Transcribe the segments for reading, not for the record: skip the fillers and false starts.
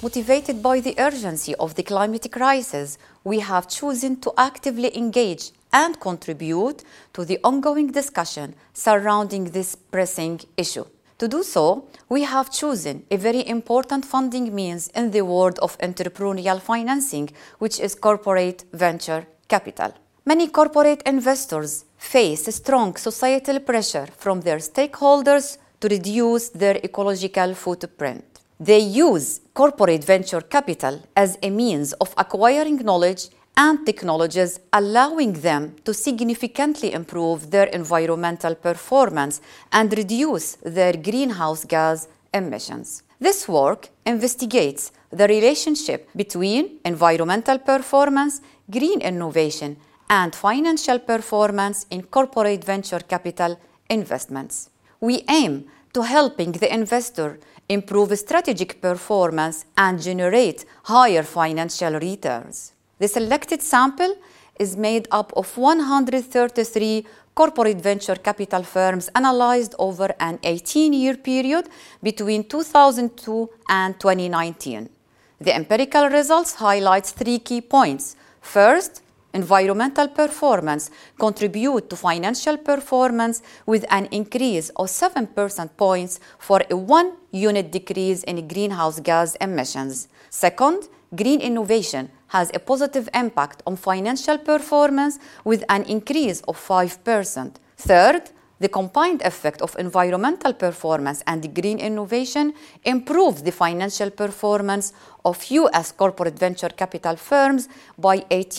Motivated by the urgency of the climate crisis, we have chosen to actively engage and contribute to the ongoing discussion surrounding this pressing issue. To do so, we have chosen a very important funding means in the world of entrepreneurial financing, which is corporate venture capital. Many corporate investors face strong societal pressure from their stakeholders to reduce their ecological footprint. They use corporate venture capital as a means of acquiring knowledge and technologies, allowing them to significantly improve their environmental performance and reduce their greenhouse gas emissions. This work investigates the relationship between environmental performance, green innovation, and financial performance in corporate venture capital investments. We aim to helping the investor improve strategic performance and generate higher financial returns. The selected sample is made up of 133 corporate venture capital firms analyzed over an 18-year period between 2002 and 2019. The empirical results highlight 3 key points. First, environmental performance contribute to financial performance with an increase of 7 percentage points for a 1-unit decrease in greenhouse gas emissions. Second, green innovation has a positive impact on financial performance with an increase of 5%. Third, the combined effect of environmental performance and green innovation improves the financial performance of U.S. corporate venture capital firms by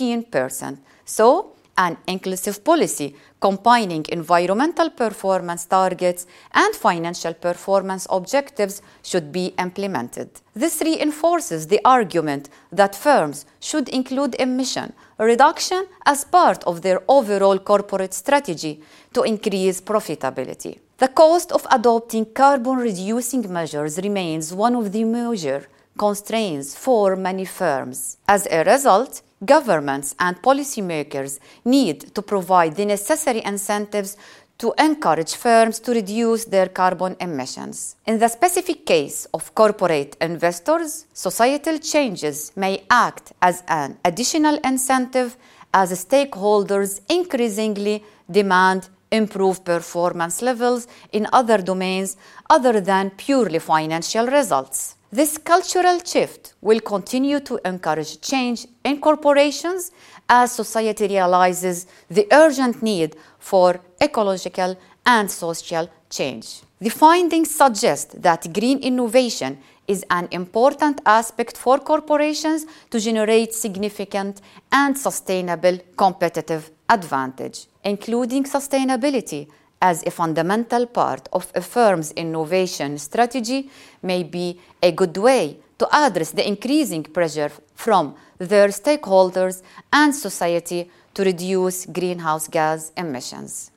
18%. So, an inclusive policy combining environmental performance targets and financial performance objectives should be implemented. This reinforces the argument that firms should include emission reduction as part of their overall corporate strategy to increase profitability. The cost of adopting carbon-reducing measures remains one of the major constraints for many firms. As a result, governments and policymakers need to provide the necessary incentives to encourage firms to reduce their carbon emissions. In the specific case of corporate investors, societal changes may act as an additional incentive as stakeholders increasingly demand improved performance levels in other domains other than purely financial results. This cultural shift will continue to encourage change in corporations as society realizes the urgent need for ecological and social change. The findings suggest that green innovation is an important aspect for corporations to generate significant and sustainable competitive advantage, including sustainability as a fundamental part of a firm's innovation strategy may be a good way to address the increasing pressure from their stakeholders and society to reduce greenhouse gas emissions.